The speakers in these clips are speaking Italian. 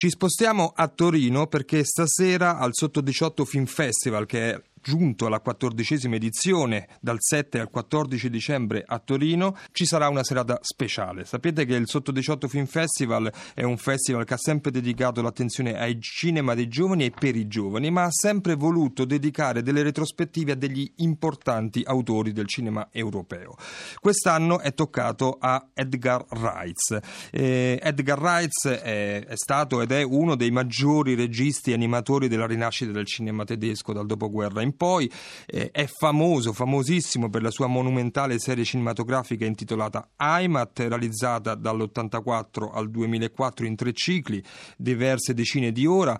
Ci spostiamo a Torino perché stasera al Sotto 18 Film Festival, che è giunto alla 14ª edizione dal 7 al 14 dicembre a Torino, ci sarà una serata speciale. Sapete che il Sotto 18 Film Festival è un festival che ha sempre dedicato l'attenzione ai cinema dei giovani e per i giovani, ma ha sempre voluto dedicare delle retrospettive a degli importanti autori del cinema europeo. Quest'anno è toccato a Edgar Reitz. Edgar Reitz è stato ed è uno dei maggiori registi e animatori della rinascita del cinema tedesco dal dopoguerra in poi. È famosissimo per la sua monumentale serie cinematografica intitolata Heimat, realizzata dall'84 al 2004 in 3 cicli, diverse decine di ore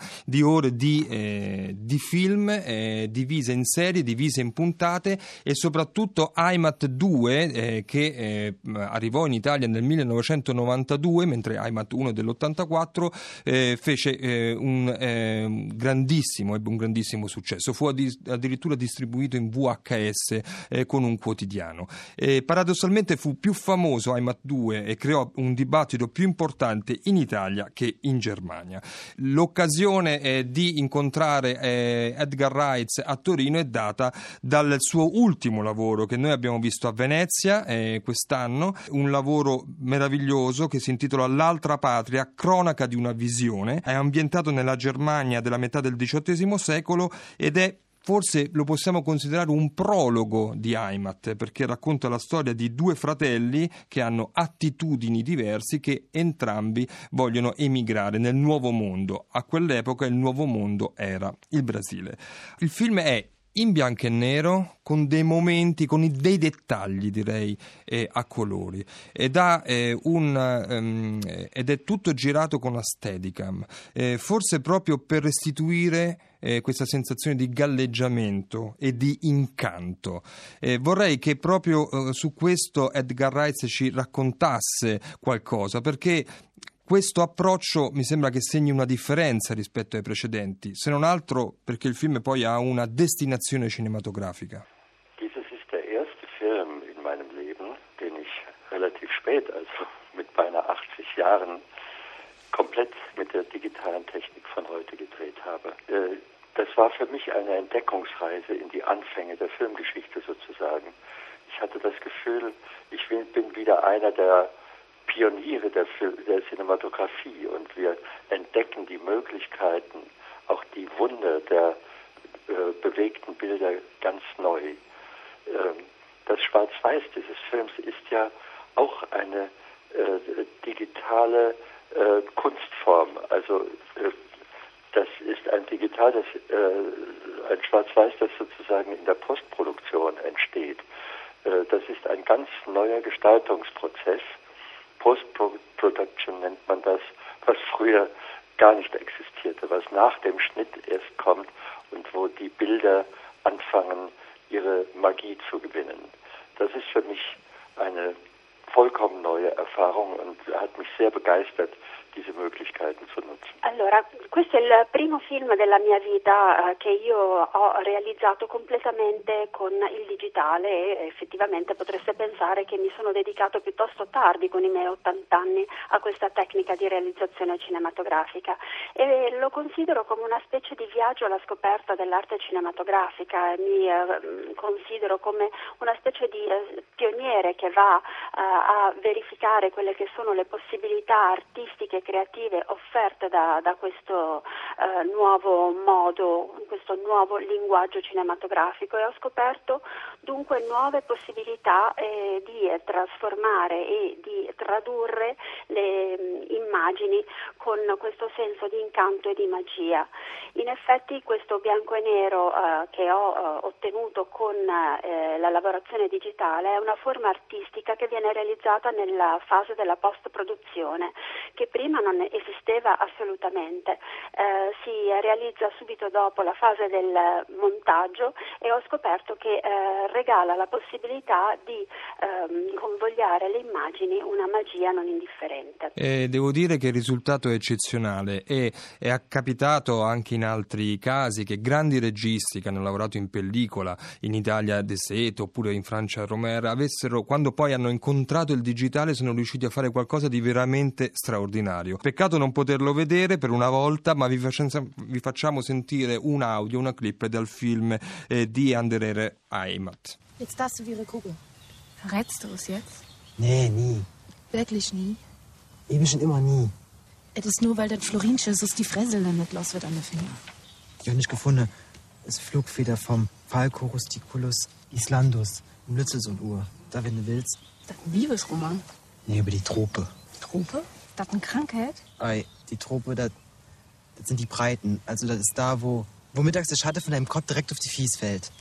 di film divise in serie, divise in puntate, e soprattutto Heimat 2 che arrivò in Italia nel 1992, mentre Heimat 1 dell'84 ebbe un grandissimo successo. Fu addirittura distribuito in VHS con un quotidiano. Paradossalmente fu più famoso Heimat 2 e creò un dibattito più importante in Italia che in Germania. L'occasione di incontrare Edgar Reitz a Torino è data dal suo ultimo lavoro che noi abbiamo visto a Venezia quest'anno, un lavoro meraviglioso che si intitola L'altra patria, cronaca di una visione. È ambientato nella Germania della metà del XVIII secolo ed è, forse lo possiamo considerare, un prologo di Heimat, perché racconta la storia di 2 fratelli che hanno attitudini diversi, che entrambi vogliono emigrare nel nuovo mondo. A quell'epoca il nuovo mondo era il Brasile. Il film è in bianco e nero, con dei momenti, con dei dettagli, direi, a colori, ed è tutto girato con la Steadicam, forse proprio per restituire questa sensazione di galleggiamento e di incanto. Vorrei che proprio su questo Edgar Reitz ci raccontasse qualcosa, perché questo approccio mi sembra che segni una differenza rispetto ai precedenti, se non altro perché il film poi ha una destinazione cinematografica. Dieses ist der erste Film in meinem Leben, den ich relativ spät, also mit beinahe 80 Jahren, komplett mit der digitalen Technik von heute gedreht habe. Das war für mich eine Entdeckungsreise in die Anfänge der Filmgeschichte sozusagen. Ich hatte das Gefühl, ich bin wieder einer der Pioniere der Cinematografie, und wir entdecken die Möglichkeiten, auch die Wunder der bewegten Bilder ganz neu. Das Schwarz-Weiß dieses Films ist ja auch eine digitale Kunstform. Also das ist ein Schwarz-Weiß, das sozusagen in der Postproduktion entsteht. Das ist ein ganz neuer Gestaltungsprozess. Post-Production nennt man das, was früher gar nicht existierte, was nach dem Schnitt erst kommt und wo die Bilder anfangen, ihre Magie zu gewinnen. Das ist für mich eine vollkommen neue Erfahrung und hat mich sehr begeistert, diese Möglichkeiten zu nutzen. Allora, questo è il primo film della mia vita che io ho realizzato completamente con il digitale, e effettivamente potreste pensare che mi sono dedicato piuttosto tardi, con i miei 80 anni, a questa tecnica di realizzazione cinematografica, e lo considero come una specie di viaggio alla scoperta dell'arte cinematografica. Mi considero come una specie di pioniere che va a verificare quelle che sono le possibilità artistiche e creative offerte da questo nuovo modo, questo nuovo linguaggio cinematografico, e ho scoperto dunque nuove possibilità di trasformare e di tradurre le immagini con questo senso di incanto e di magia. In effetti questo bianco e nero che ho ottenuto con la lavorazione digitale è una forma artistica che viene realizzata nella fase della post-produzione, che prima non esisteva assolutamente. si realizza subito dopo la fase del montaggio e ho scoperto che regala la possibilità di convogliare le immagini una magia non indifferente. Devo dire che il risultato è eccezionale e è capitato anche in altri casi che grandi registi che hanno lavorato in pellicola, in Italia De Seto oppure in Francia Romer, quando poi hanno incontrato il digitale sono riusciti a fare qualcosa di veramente straordinario. Peccato non poterlo vedere per una volta, ma vi facciamo sentire un audio, una clip dal film di Andere Heimat. Jetzt darfst du wie ihre Kugel. Verrätst du es jetzt? Nee, nie. Wirklich nie? Ewig und immer nie. Es ist nur, weil das Florinschissus die Fräsel dann nicht los wird an den Finger. Ich habe nicht gefunden. Es Flugfeder vom Falco rusticulus islandus im Lützelsunduhr. Da, wenn du willst. Das ist ein Liebesroman. Nee, über die Trope. Trope? Ist das eine Krankheit? Ei, die Trope, das sind die Breiten. Also das ist da, wo mittags der Schatten von deinem Kopf direkt auf die Fies fällt.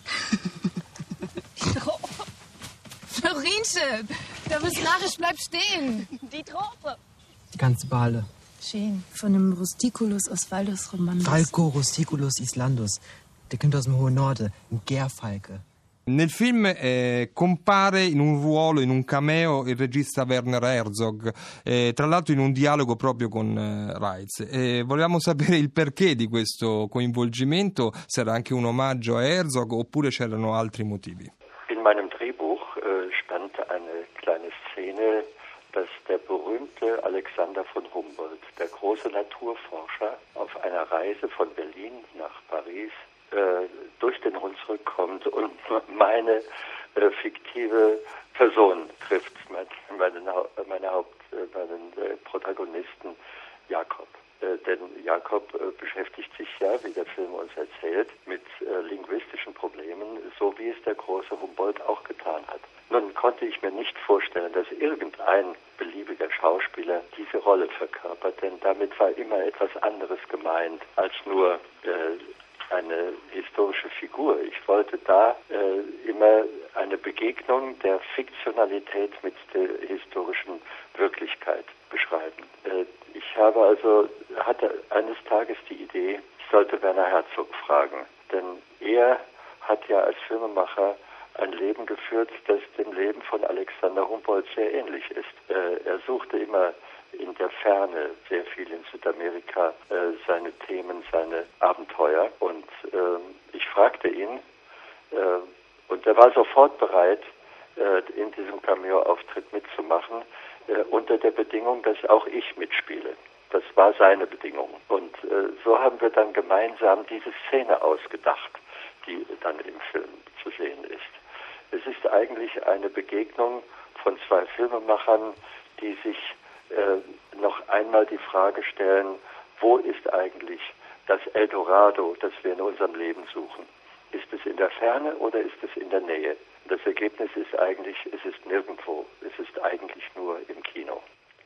Florinchen, da bist narrisch, bleib stehen. Die Trope. Die ganze Bale. Schön. Von einem Rusticulus Oswaldus Romandus. Falco rusticulus islandus. Der kommt aus dem hohen Norden, ein Gärfalke. Nel film compare in un ruolo, in un cameo, il regista Werner Herzog, tra l'altro in un dialogo proprio con Reitz. Volevamo sapere il perché di questo coinvolgimento, se era anche un omaggio a Herzog oppure c'erano altri motivi. In meinem Drehbuch stand eine kleine Szene, dass der berühmte Alexander von Humboldt, der große Naturforscher, auf einer Reise von Berlin nach Paris durch den Hunsrück kommt und meine fiktive Person trifft, meinen Protagonisten Jakob. Denn Jakob beschäftigt sich ja, wie der Film uns erzählt, mit linguistischen Problemen, so wie es der große Humboldt auch getan hat. Nun konnte ich mir nicht vorstellen, dass irgendein beliebiger Schauspieler diese Rolle verkörpert, denn damit war immer etwas anderes gemeint als nur eine historische Figur. Ich wollte da immer eine Begegnung der Fiktionalität mit der historischen Wirklichkeit beschreiben. Ich hatte eines Tages die Idee, ich sollte Werner Herzog fragen, denn er hat ja als Filmemacher ein Leben geführt, das dem Leben von Alexander Humboldt sehr ähnlich ist. Er suchte immer in der Ferne, sehr viel in Südamerika, seine Themen, seine Abenteuer. Und ich fragte ihn, und er war sofort bereit, in diesem Cameo-Auftritt mitzumachen, unter der Bedingung, dass auch ich mitspiele. Das war seine Bedingung. Und so haben wir dann gemeinsam diese Szene ausgedacht, die dann im Film zu sehen ist. Es ist eigentlich eine Begegnung von zwei Filmemachern, die sich noch einmal die Frage stellen, wo ist eigentlich das Eldorado, das wir in unserem Leben suchen? Ist es in der Ferne oder ist es in der Nähe? Das Ergebnis ist eigentlich, es ist nirgendwo, es ist eigentlich nur im Kino.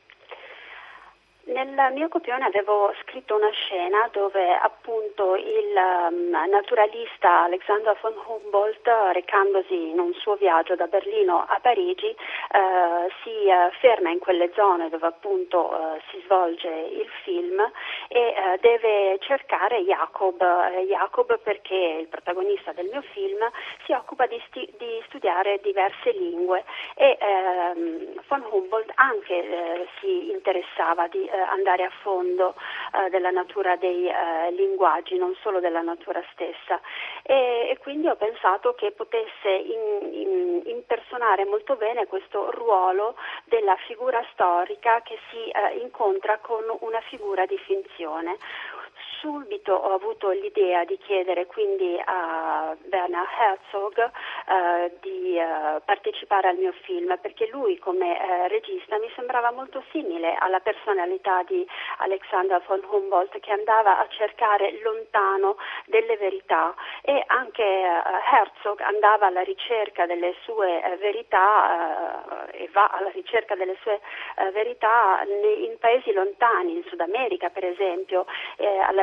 Nel mio copione avevo scritto una scena dove appunto il naturalista Alexander von Humboldt, recandosi in un suo viaggio da Berlino a Parigi, si ferma in quelle zone dove appunto si svolge il film e deve cercare Jacob perché il protagonista del mio film si occupa di studiare diverse lingue e von Humboldt anche si interessava di andare a fondo della natura dei linguaggi, non solo della natura stessa e quindi ho pensato che potesse impersonare molto bene questo ruolo della figura storica che si incontra con una figura di finzione. Subito ho avuto l'idea di chiedere quindi a Werner Herzog di partecipare al mio film perché lui come regista mi sembrava molto simile alla personalità di Alexander von Humboldt che andava a cercare lontano delle verità e anche Herzog andava alla ricerca delle sue verità e va alla ricerca delle sue verità in paesi lontani, in Sud America per esempio, alla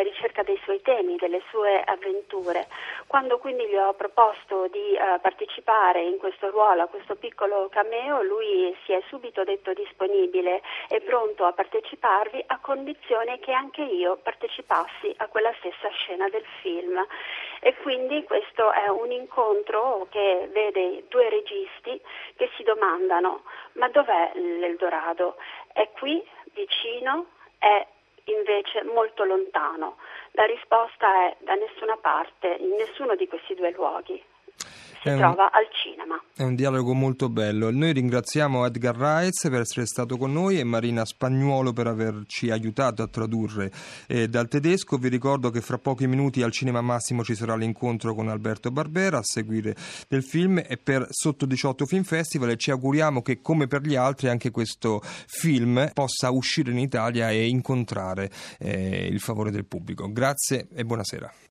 ricerca dei suoi temi, delle sue avventure. Quando quindi gli ho proposto di partecipare in questo ruolo, a questo piccolo cameo, lui si è subito detto disponibile e pronto a parteciparvi, a condizione che anche io partecipassi a quella stessa scena del film. E quindi questo è un incontro che vede due registi che si domandano: ma dov'è l'Eldorado? È qui, vicino? È invece molto lontano? La risposta è: da nessuna parte, in nessuno di questi due luoghi. Si trova al cinema. È un dialogo molto bello. Noi ringraziamo Edgar Reitz per essere stato con noi e Marina Spagnuolo per averci aiutato a tradurre dal tedesco. Vi ricordo che fra pochi minuti al Cinema Massimo ci sarà l'incontro con Alberto Barbera a seguire del film e per Sotto 18 Film Festival, e ci auguriamo che, come per gli altri, anche questo film possa uscire in Italia e incontrare il favore del pubblico. Grazie e buonasera.